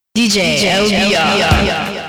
DJ LBR.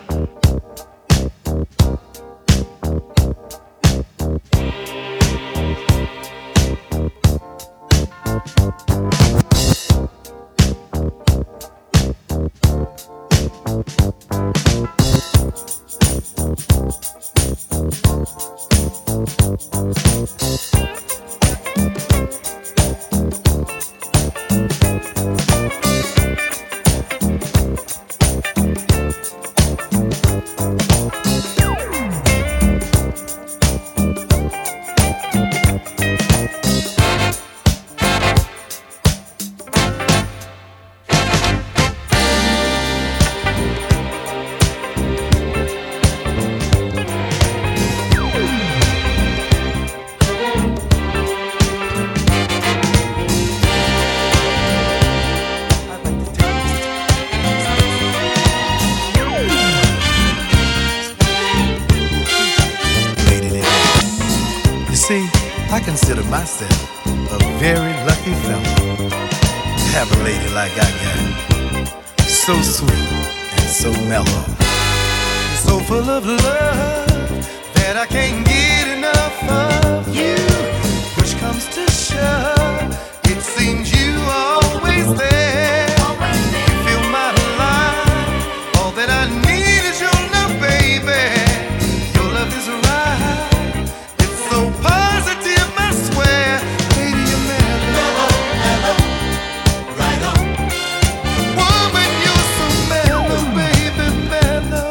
I consider myself a very lucky fellow to have a lady like I got. So sweet and so mellow, so full of love that I can't get enough of you. Push comes to shove, it seems you always there. You fill my life, all that I need is your love, baby. Your love is right, it's so positive, I swear. Lady, you're mellow, mellow, right on. Woman, you're so mellow, baby, mellow.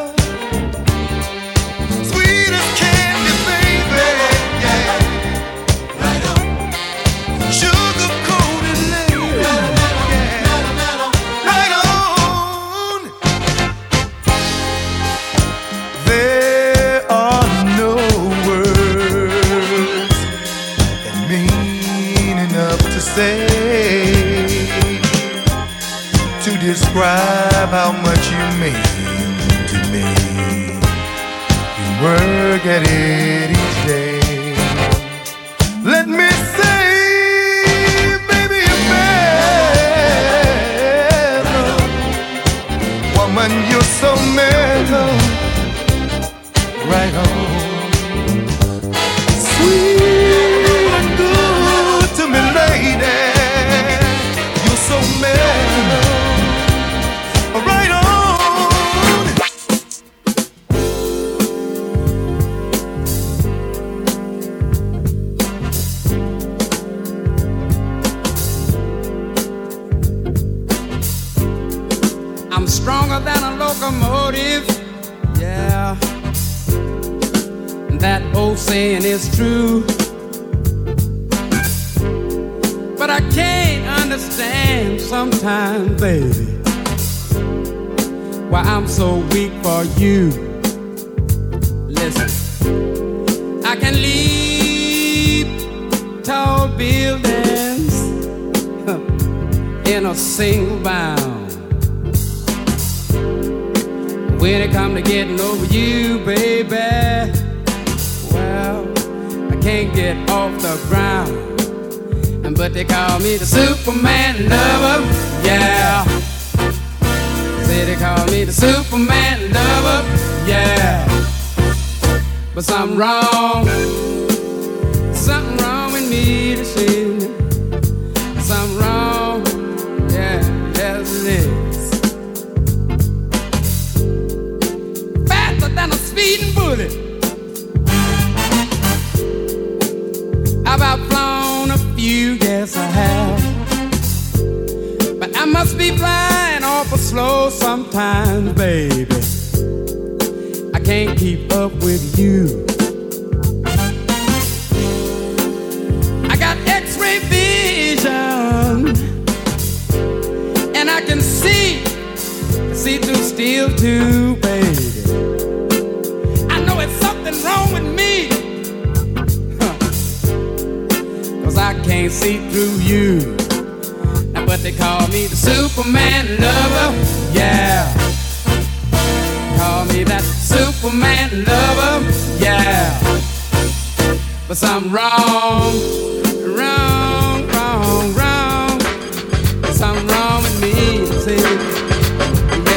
Sweet as candy, baby, yeah. Right on. Sugar-coated lady, yeah. Right on. There are no words that mean enough to say to describe how much you mean to me. You work at it each day. Let me say, baby, you're mellow. Woman, you're so mellow. Right on. Sweet and good to me, lady. You're so mellow. Right on. I'm stronger than a locomotive, yeah. That old saying is true. But I can't understand sometimes, baby, why I'm so weak for you. Listen, I can leap tall buildings in a single bound. When it come to getting over you, baby, well, I can't get off the ground. But they call me the Superman lover, yeah. Say they call me the Superman lover, yeah. But something wrong with me to see. Something wrong, yeah, yes it is. Faster than a speeding bullet, I've outflown a few, yes I have. But I must be flying awful slow sometimes, baby. I can't keep up with you. I got X-ray vision, and I can see through steel too, baby. I know it's something wrong with me, 'cause I can't see through you. Now, but they call me the Superman lover, yeah. Call me that Superman lover, yeah. But something wrong. Something wrong with me, see.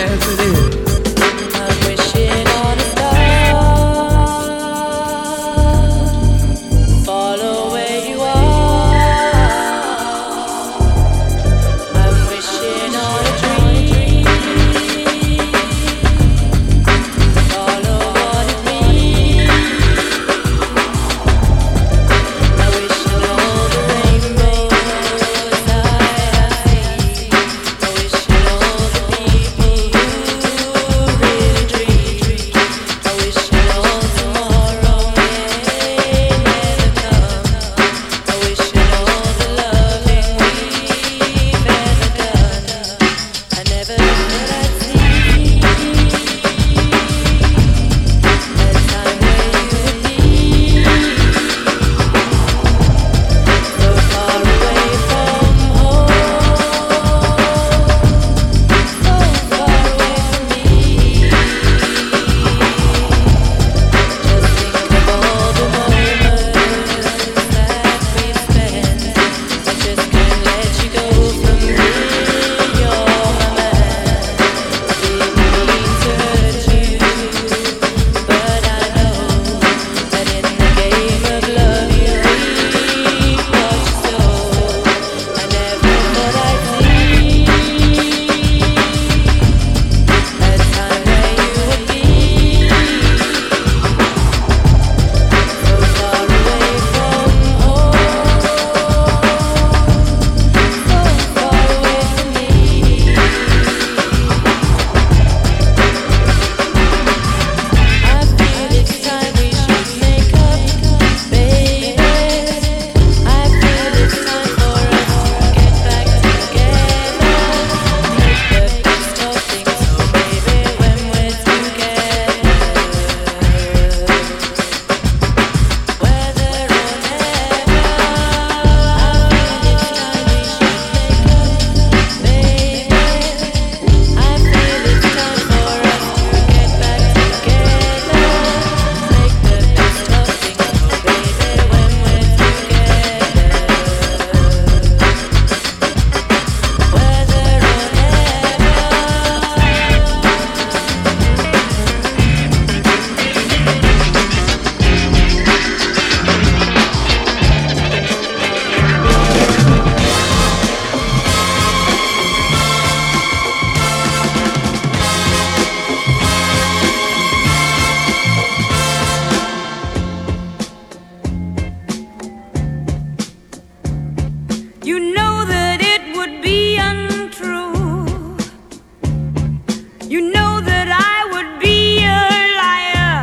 You know that I would be a liar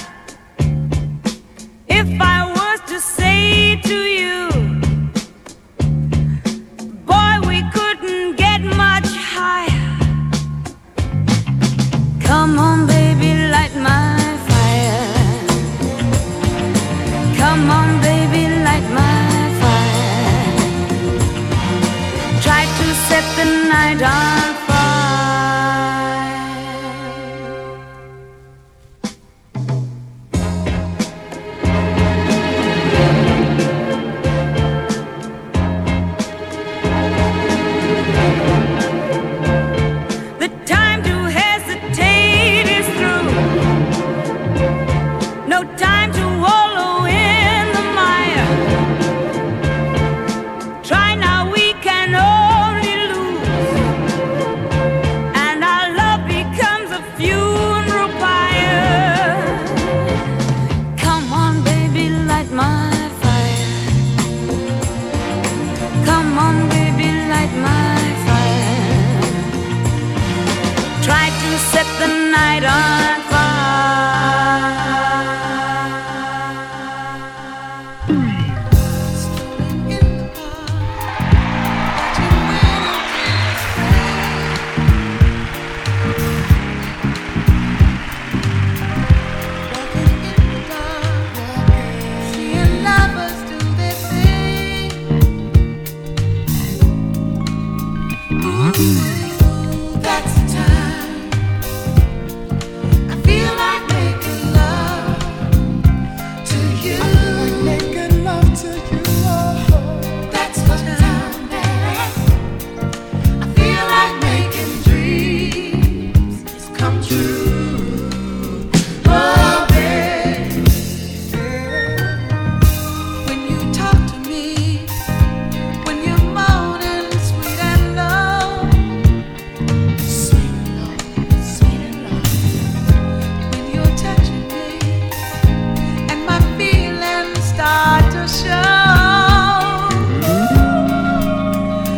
if I was to say to you, boy, we couldn't get much higher. Come on, baby, light my fire. Come on, baby, light my fire. Try to set the night on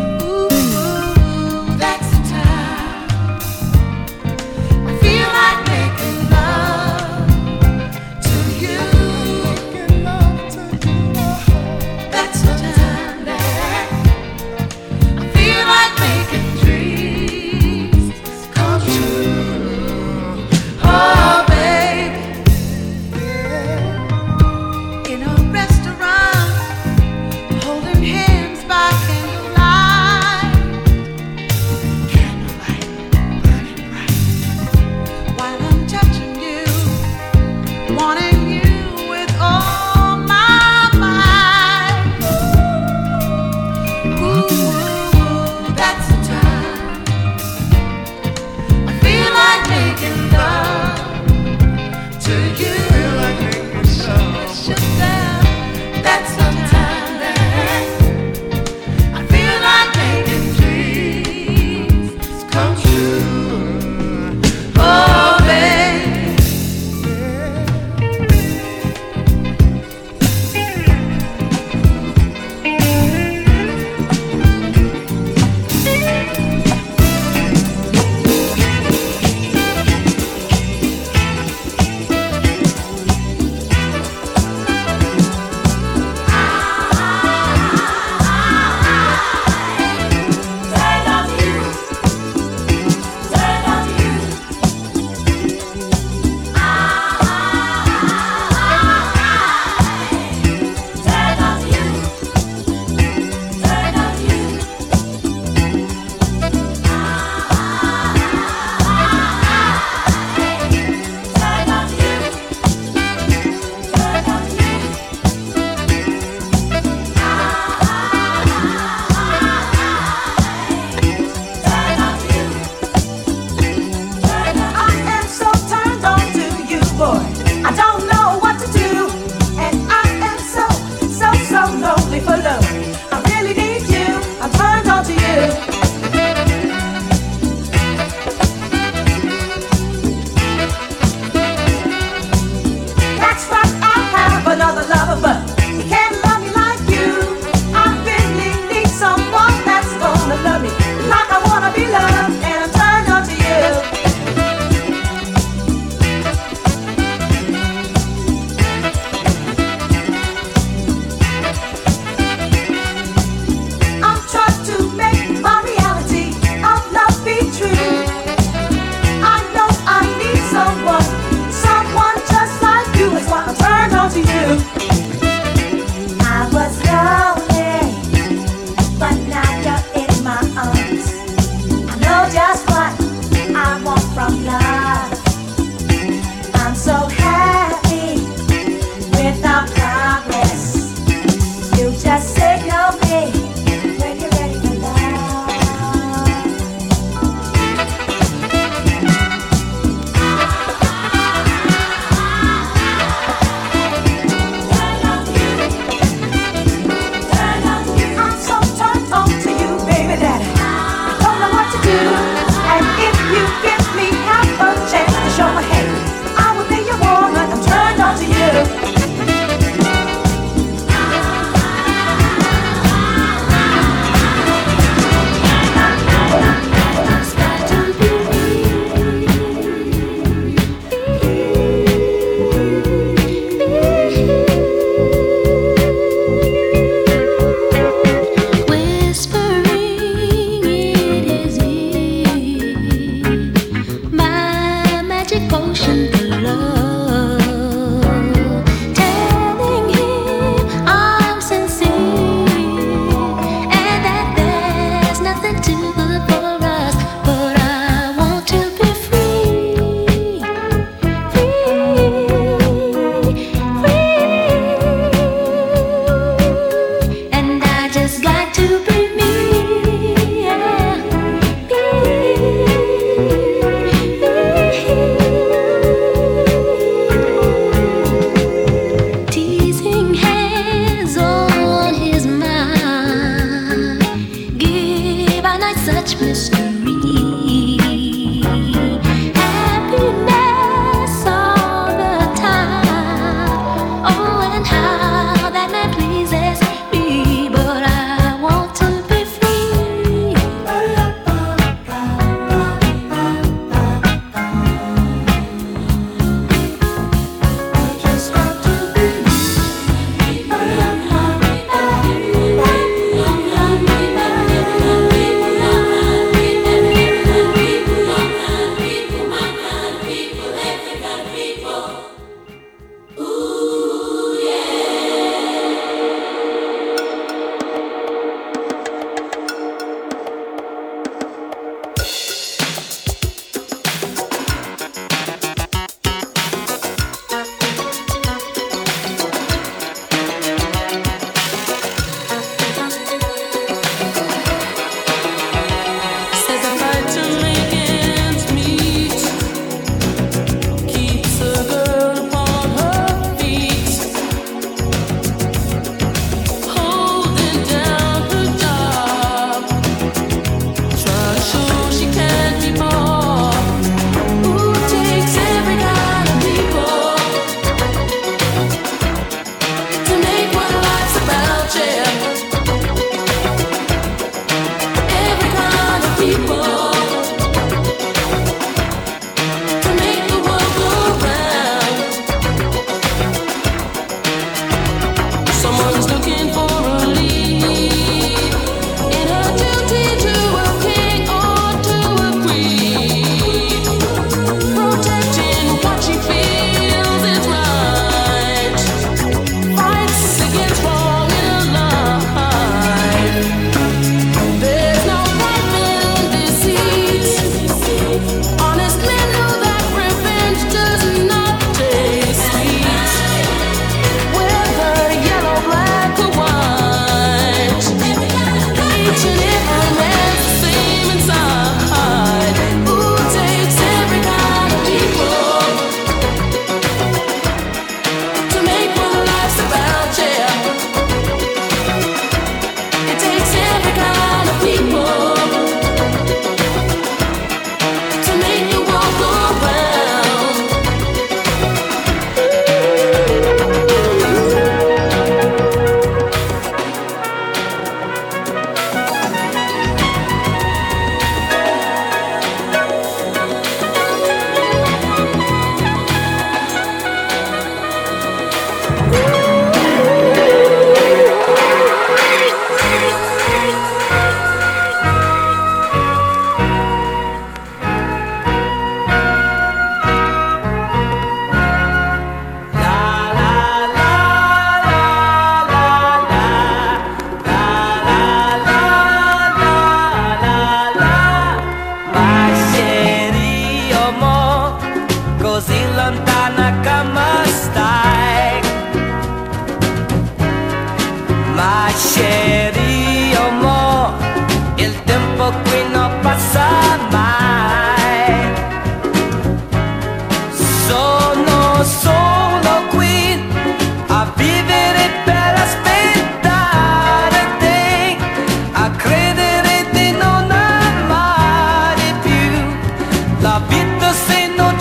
like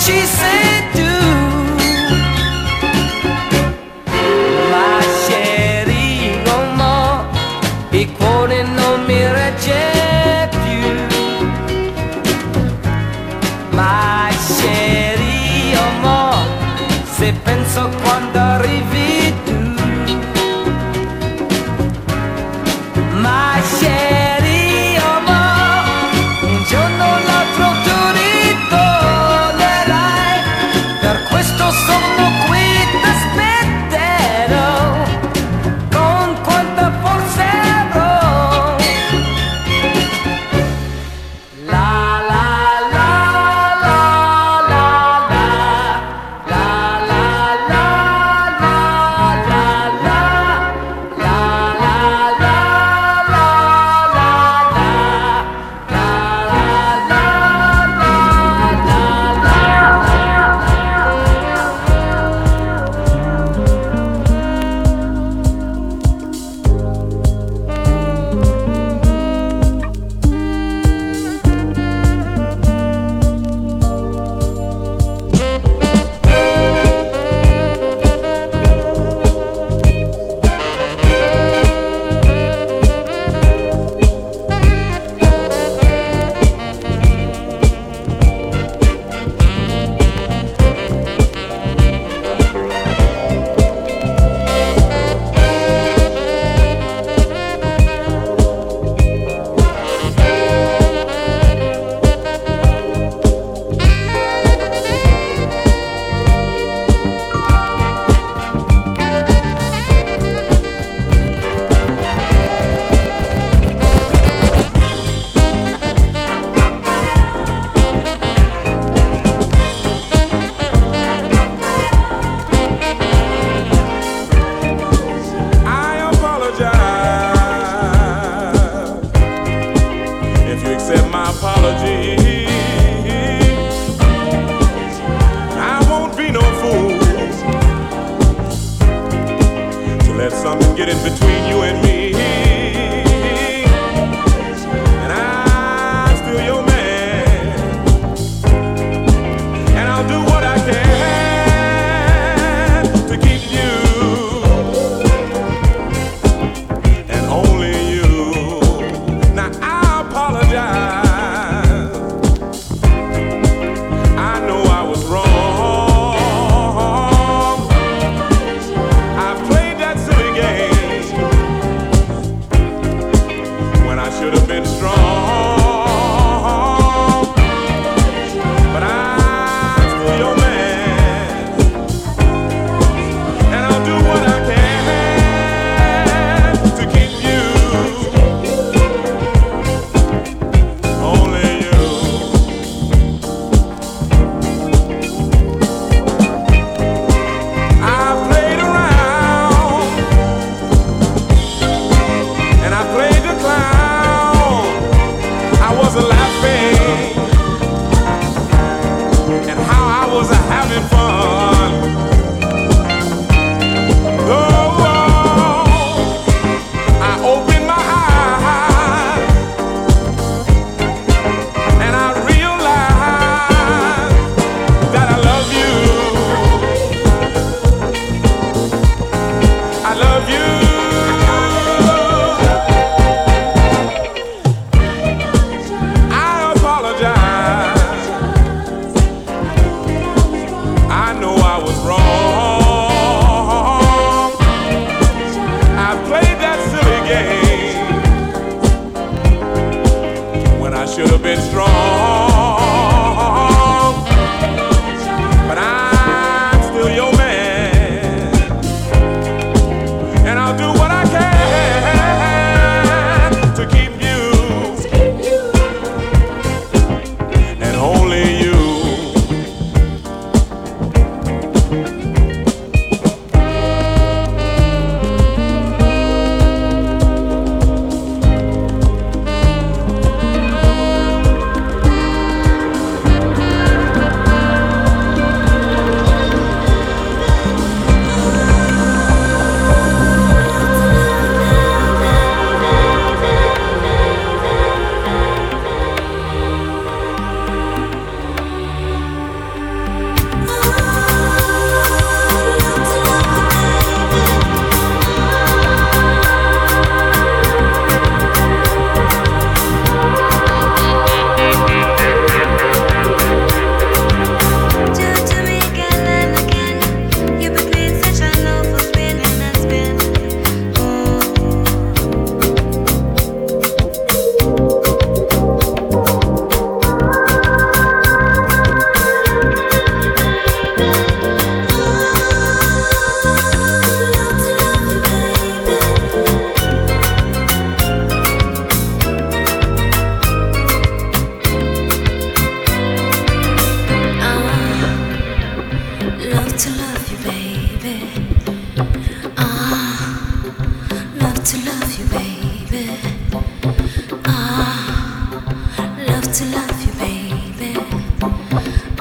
ci sei tu, ma chérie, mo, il cuore non mi regge più, ma chérie, mo, se penso quando arrivi tu, ma chérie, mo, un giorno o l'altro tu ritornerai, per questo sono qui, t'aspetterò, con quanta forza avrò. La la la la la la, la la la la la la, la la la la la la, la la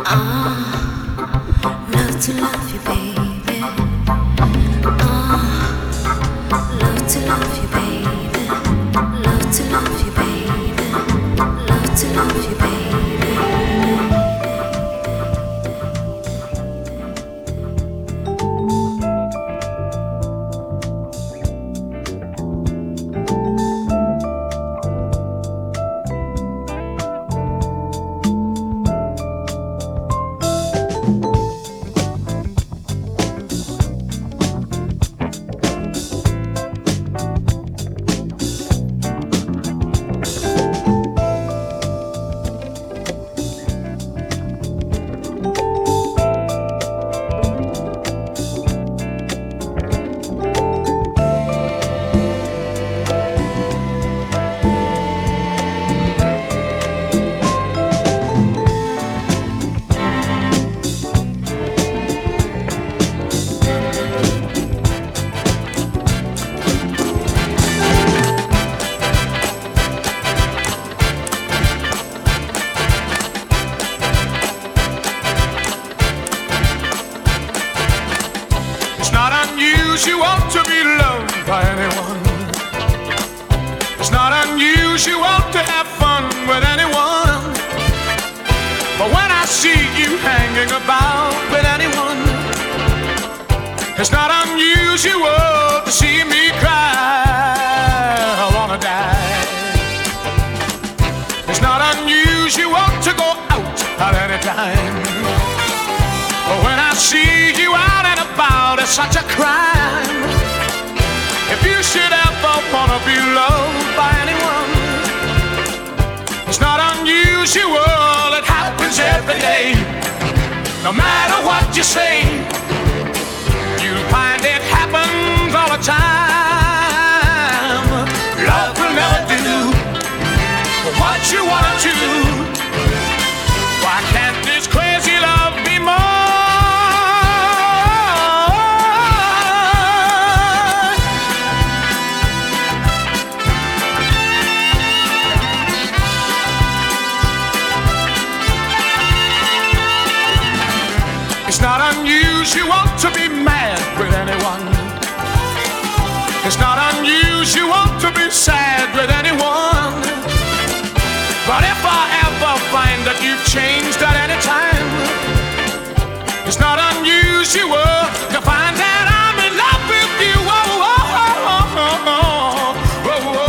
Love to love you, baby. Love to love you, baby. Love to love you, baby. Love to love you, baby. unusual to be loved by anyone. It's not unusual to have fun with anyone. But when I see you hanging about with anyone, it's not unusual to see me cry. I wanna die. It's not unusual to go out at any time. But when I see you out and about, it's such a crime. If you should ever wanna be loved by anyone, it's not unusual, it happens every day. No matter what you say, you'll find it happens all the time. Love will never do what you wanna do. Why can't this crazy love be more? It's not unusual to be mad with anyone. It's not unusual to be sad with anyone. But if I ever find that you've changed at any time, it's not unusual to find that I'm in love with you. Oh, oh, oh, oh, oh, oh, oh.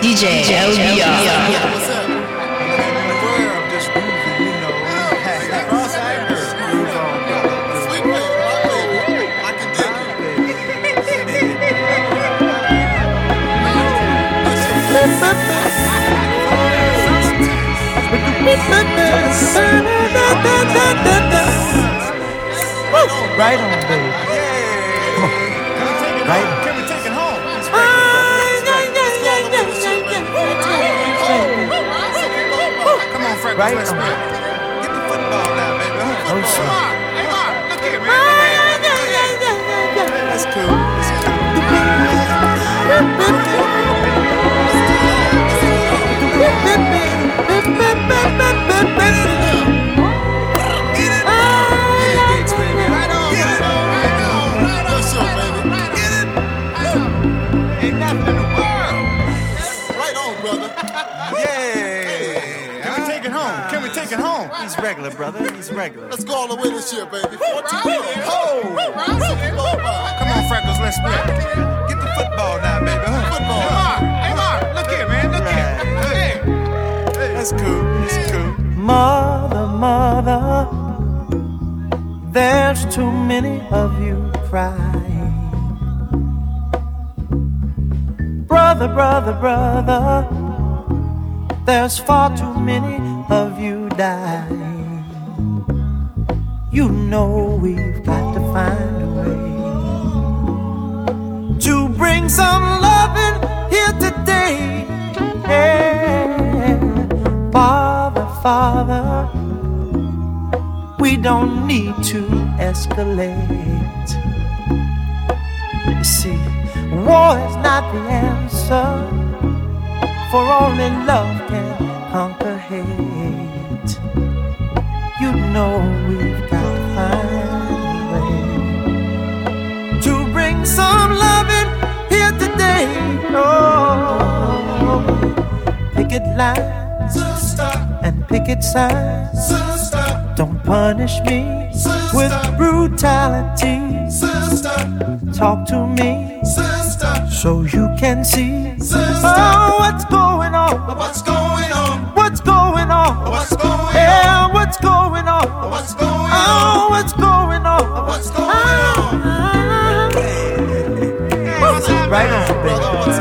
DJ LBR. What's up? I'm just moving, you know. Sweet baby, my baby. I can dig it. Right on, baby. Come on. Right on. Can we take it home? Come on, Freckles, Right let's on. play. Get the football now, baby. Oh, sure. Hey, Mark, look here, man. That's cool. That's cool. Gigs, baby. Right on, right on, right on. What's up, baby? Get it. Ain't nothing in the world. Right on, brother. Yeah. Can we take it home? Can we take it home? He's regular, brother. He's regular. Let's go all the way this year, baby. 14 minutes. Come on, Freckles, let's play. Get the football now, baby. Football. Hey, Mark, look here, man. Look here. Hey. That's cool. That's cool. Mother, mother, there's too many of you crying. Brother, brother, brother, there's far too many of you dying. You know we've got to find a way to bring some loving here today. Yeah. Father, Father, we don't need to escalate. You see, war is not the answer, for only love can conquer hate. You know we've got to find a way to bring some loving here today. Oh, picket lines, sister, and picket signs, sister. Don't punish me, sister, with brutality, sister. Talk to me, sister, so you can see, sister. Oh, what's going on? What's going on? What's going on? What's going on? Yeah, what's going on? What's going on? Oh, what's going on? What's going on? Right on, baby.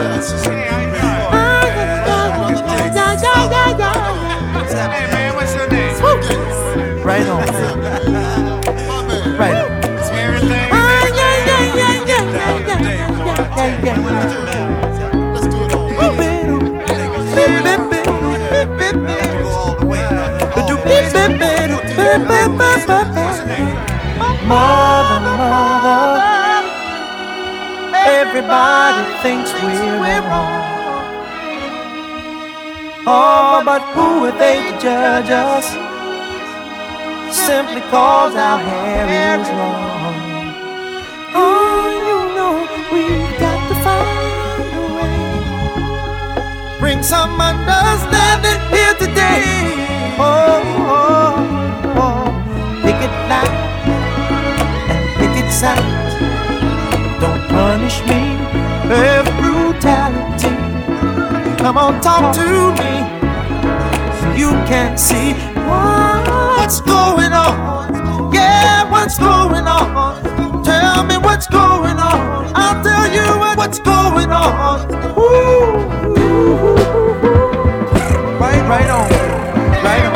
Hey, man, what's your name? Right on, baby. Right on. Everything. Let's do it all. Mother, mother, everybody thinks we're wrong. Oh, but who are they to judge us? Simply cause our hair is long. Oh, you know we've got to find a way. Bring some understanding here today. Oh, oh, oh. Picket line and picket signs. Don't punish me with brutality. Come on, talk to me so you can see what's going on. Yeah, what's going on? Tell me what's going on. I'll tell you what's going on. Ooh. Right on. Right on.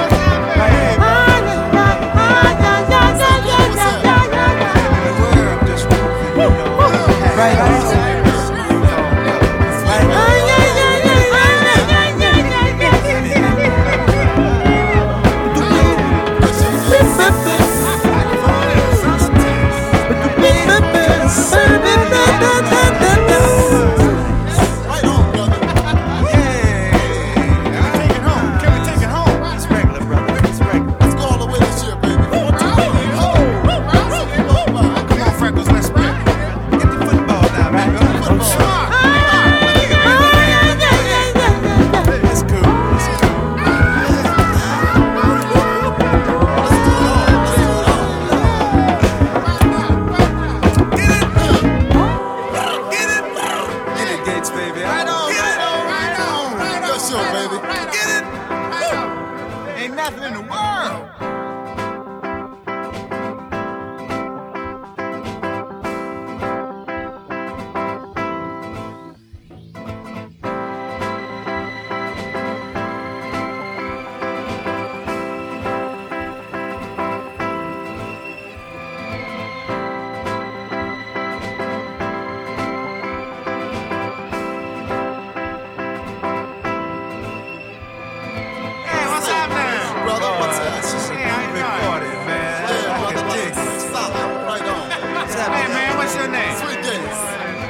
Hey man, what's your name? Sweet Gates.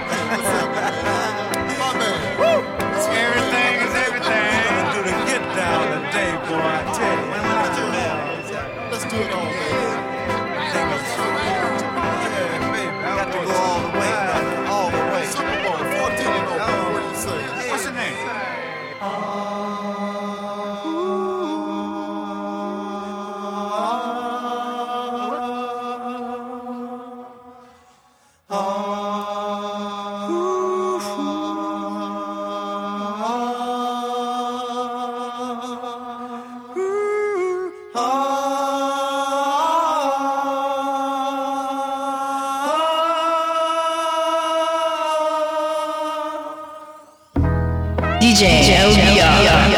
My man. Everything is everything. Do the get down today, boy, I tell you. Let's do it all, man. Yeah, baby, got to go all the way, brother, all the way. Super Bowl 14 and over. What do you say? What's your name? DJ LBR.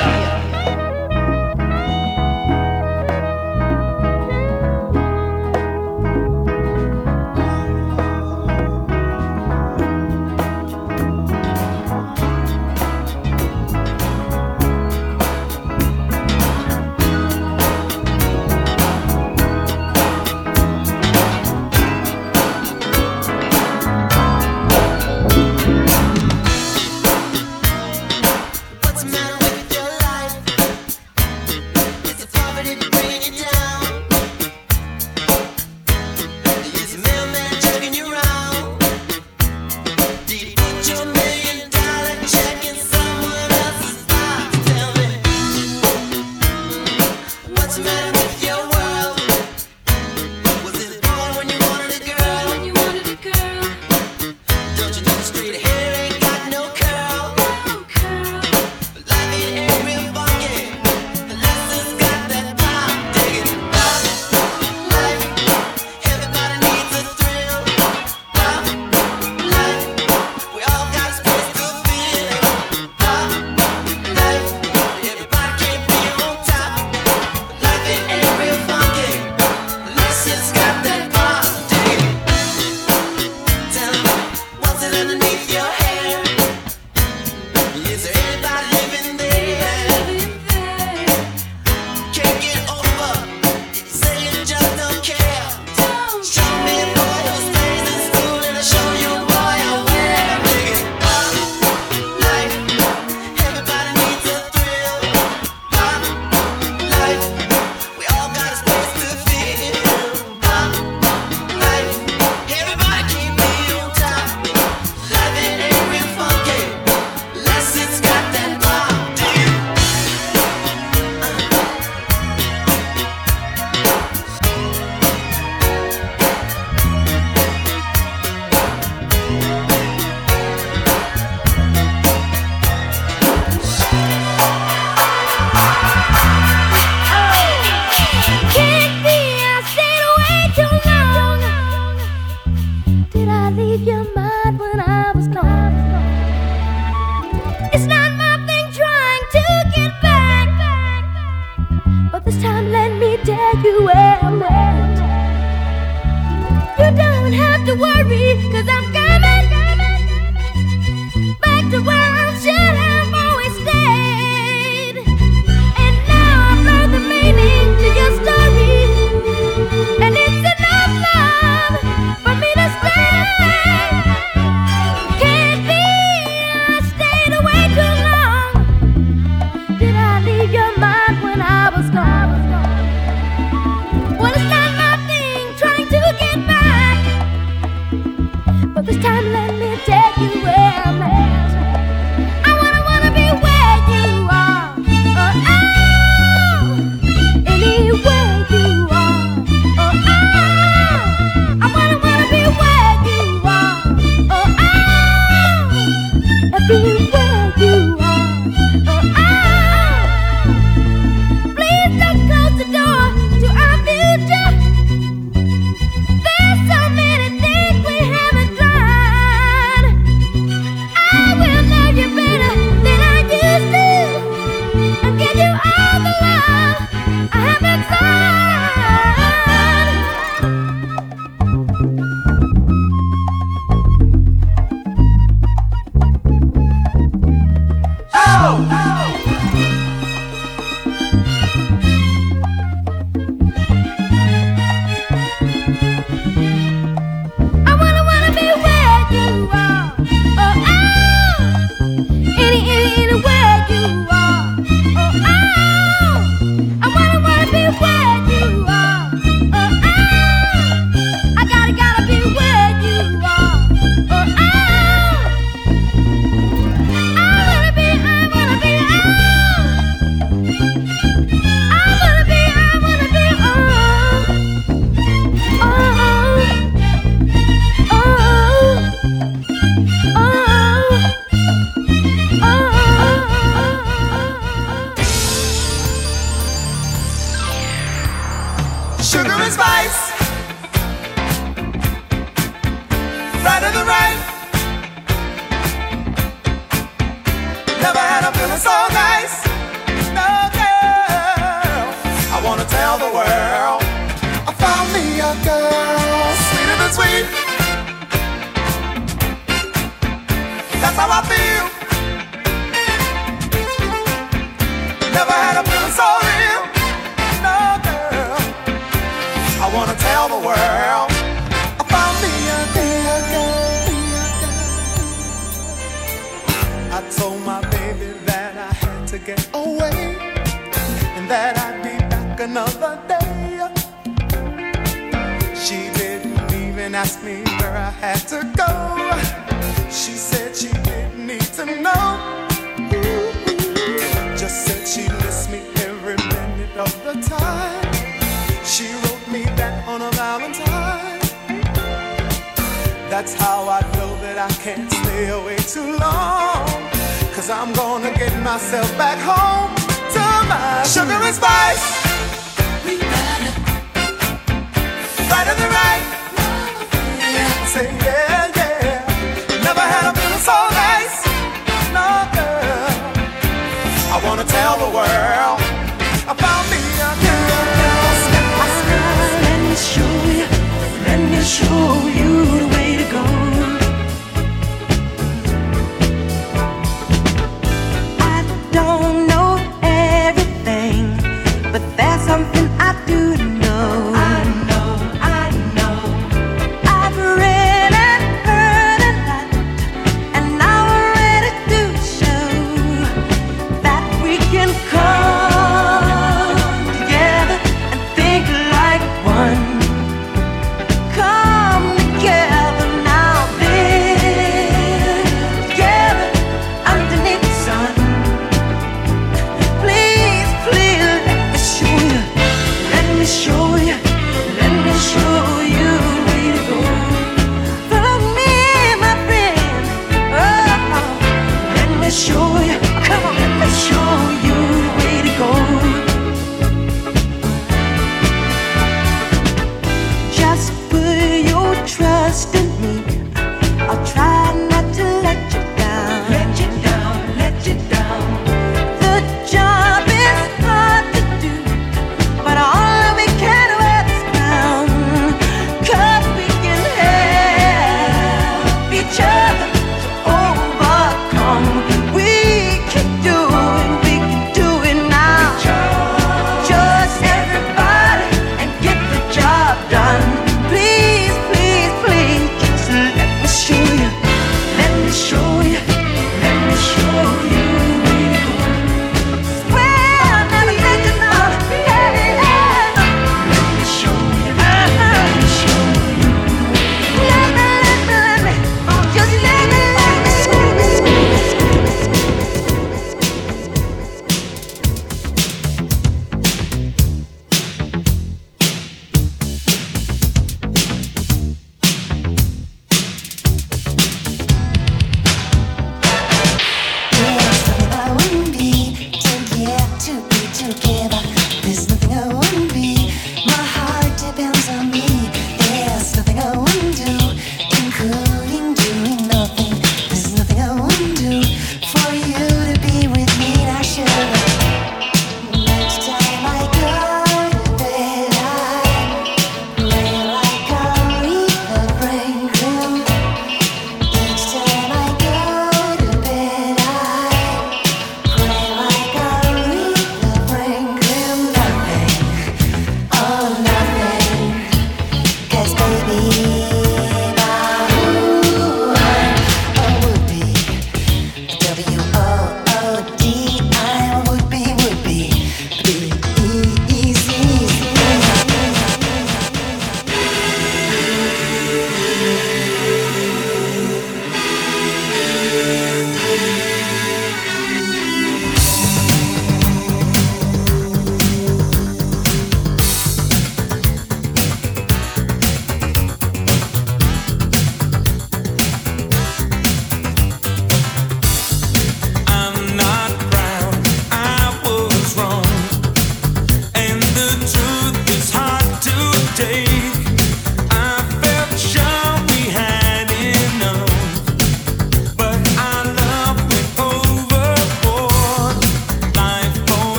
What's the matter with your life? Is it poverty bringing you down? Is the mailman jerking you around? Did you put your $1 million check in someone else's box? Tell me, what's the matter with your world? Was it born when you wanted a girl? Don't you know the street hair ain't got no curl? Life ain't real funky unless it's got that pop. Dig it up, life. Everybody needs a thrill. Pop, life. We all got a space to feel. Pop, life. Everybody can't be on top. Life ain't real funky unless it's got that pop. Dig it. Tell me, what's it underneath your hair? Is there anybody living there? Can't get over. Say you just don't care. Show me a boy who stays in school and I'll show you a boy I wear. Dig it up, life. Everybody needs a thrill. Pop, life. We all got a space to feel. Pop, life. Everybody can't be on top. Life ain't real funky unless it's got that pop. Dig it. Can't be, I stayed away too long. Did I leave your mind when I was gone? It's not my thing trying to get back, but this time let me tell you where I'm at. You don't have to worry, 'cause I'm coming back to where I should have always stayed. And now I've learned the meaning to your story, and it's enough love for me to stay. Can't be, I stayed away too long. Did I leave your mind when I was gone? Well, it's not my thing trying to get back, but this time let me tell you where I'm at. I wanna be where you are. Oh, anywhere you are. Oh, I wanna be where you are. Oh, everywhere you are. Oh, please don't close the door to our future. There's so many things we haven't tried. are. Oh, I wanna be where you are. Oh, I gotta be where you are. Oh, I wanna be, oh. I wanna be, oh. Sugar and spice, right of the right. Never had a feeling so nice. No girl, I wanna tell the world I found me a girl sweeter than sweet. That's how I feel. Never had a feeling so real. No girl, I wanna tell the world I found me a girl. I told my baby that I had to get away and that I'd be back another day. She didn't even ask me where I had to go. She said she didn't need to know. Just said she missed me every minute of the time. She wrote me back on a Valentine. That's how I know that I can't stay away too long. 'Cause I'm gonna get myself back home to my sugar and spice. Right of the right. Say yeah, yeah. Never had a feeling so nice. No girl, I wanna tell the world I found me a girl. Let me show you the way to go. I don't know everything, but there's something I do know. I know. I've read and heard a lot, and now I'm ready to show that we can come together and think like one. Come together.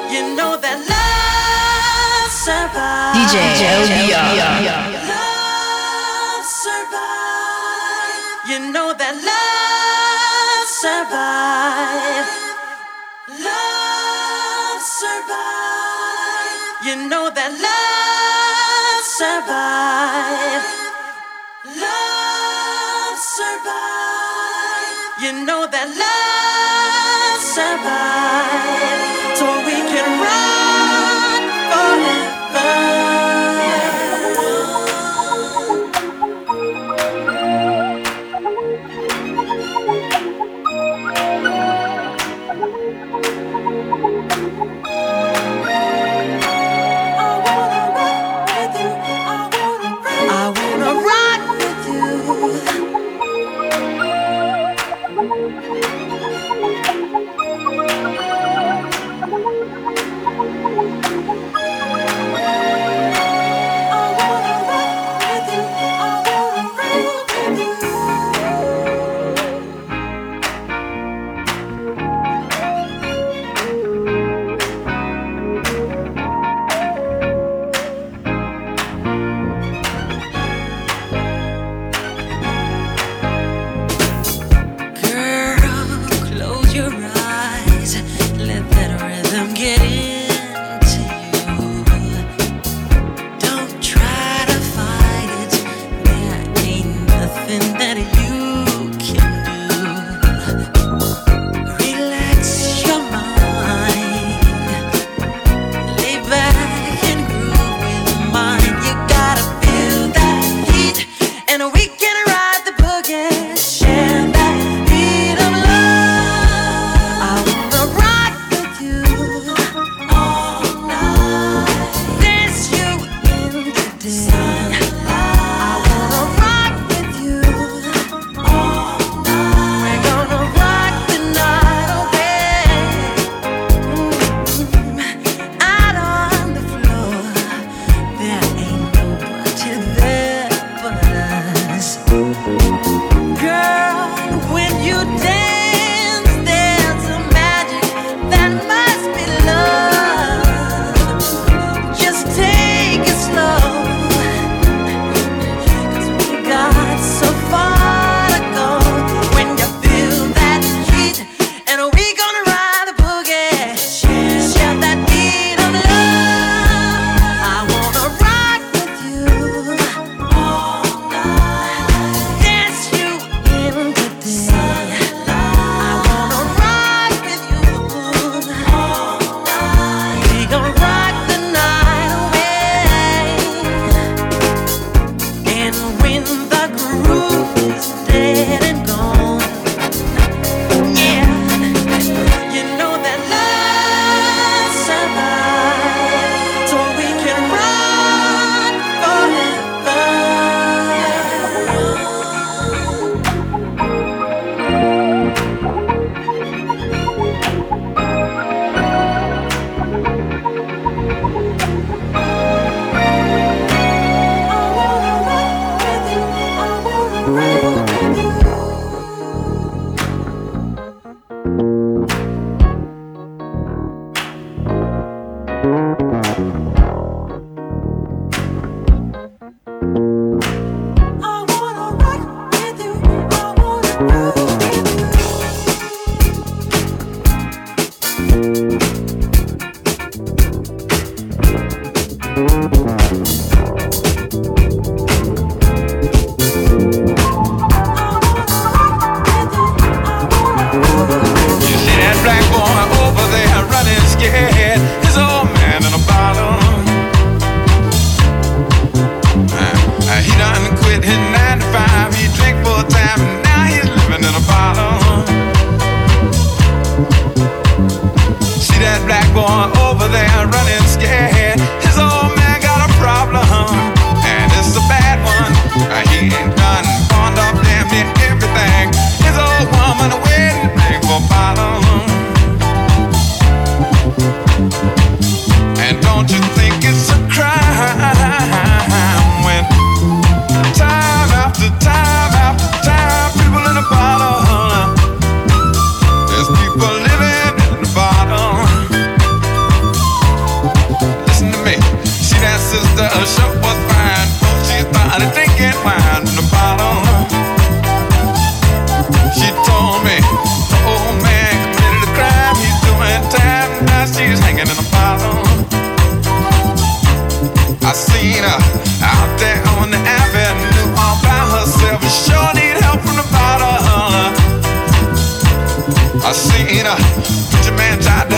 You know that love survives. DJ LBR. Love survives. You know that love survives. Love survives. You know that love survives. Love survives. You know that love survives. So we can run forever. I seen a preacher man tried